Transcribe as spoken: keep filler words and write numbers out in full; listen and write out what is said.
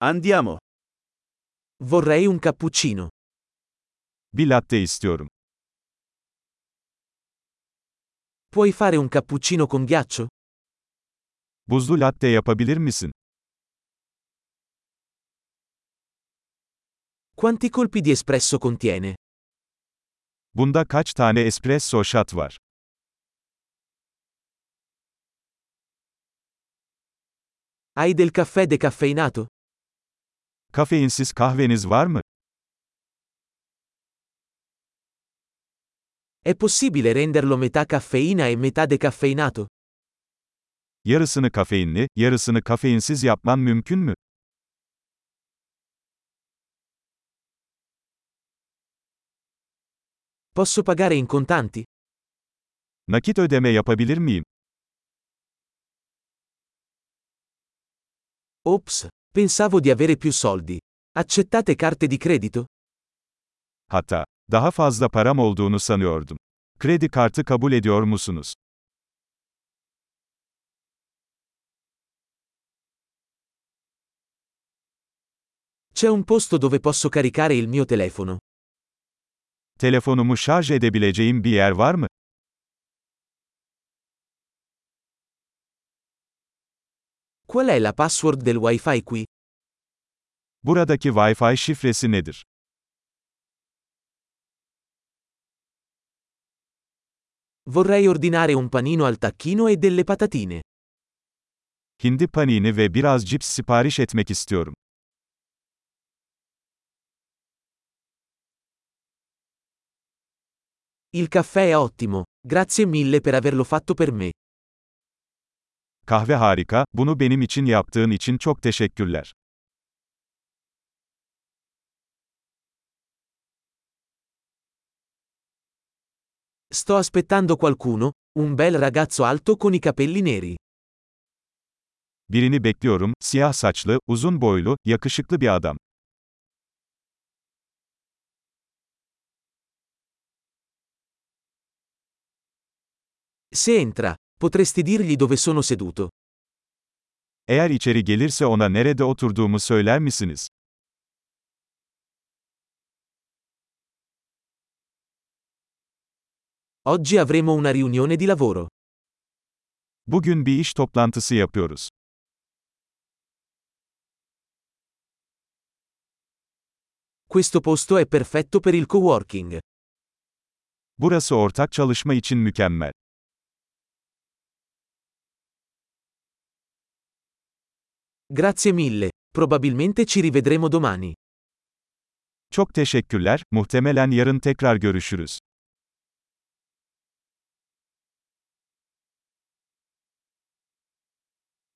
Andiamo. Vorrei un cappuccino. Bir latte istiyorum. Puoi fare un cappuccino con ghiaccio? Buzlu latte yapabilir misin? Quanti colpi di espresso contiene? Bunda kaç tane espresso shot var? Hai del caffè decaffeinato? Kafeinsiz kahveniz var mı? È possibile renderlo metà caffeina e metà decaffeinato? Yarısını kafeinli, yarısını kafeinsiz yapman mümkün mü? Posso pagare in contanti? Nakit ödeme yapabilir miyim? Ops, pensavo di avere più soldi. Accettate carte di credito? Hatta, daha fazla param olduğunu sanıyordum. Kredi kartı kabul ediyor musunuz? C'è un posto dove posso caricare il mio telefono. Telefonumu şarj edebileceğim bir yer var mı? Qual è la password del Wi-Fi qui? Buradaki Wi-Fi şifresi nedir? Vorrei ordinare un panino al tacchino e delle patatine. Hindi panini ve biraz cips sipariş etmek istiyorum. Il caffè è ottimo, grazie mille per averlo fatto per me. Kahve harika, bunu benim için yaptığın için çok teşekkürler. Sto aspettando qualcuno, un bel ragazzo alto con i capelli neri. Birini bekliyorum, siyah saçlı, uzun boylu, yakışıklı bir adam. Se entra, potresti dirgli dove sono seduto. Eğer içeri gelirse ona nerede oturduğumu söyler misiniz? Oggi avremo una riunione di lavoro. Bugün bir iş toplantısı yapıyoruz. Questo posto è perfetto per il coworking. Burası ortak çalışma için mükemmel. Grazie mille, probabilmente ci rivedremo domani. Çok teşekkürler, muhtemelen yarın tekrar görüşürüz.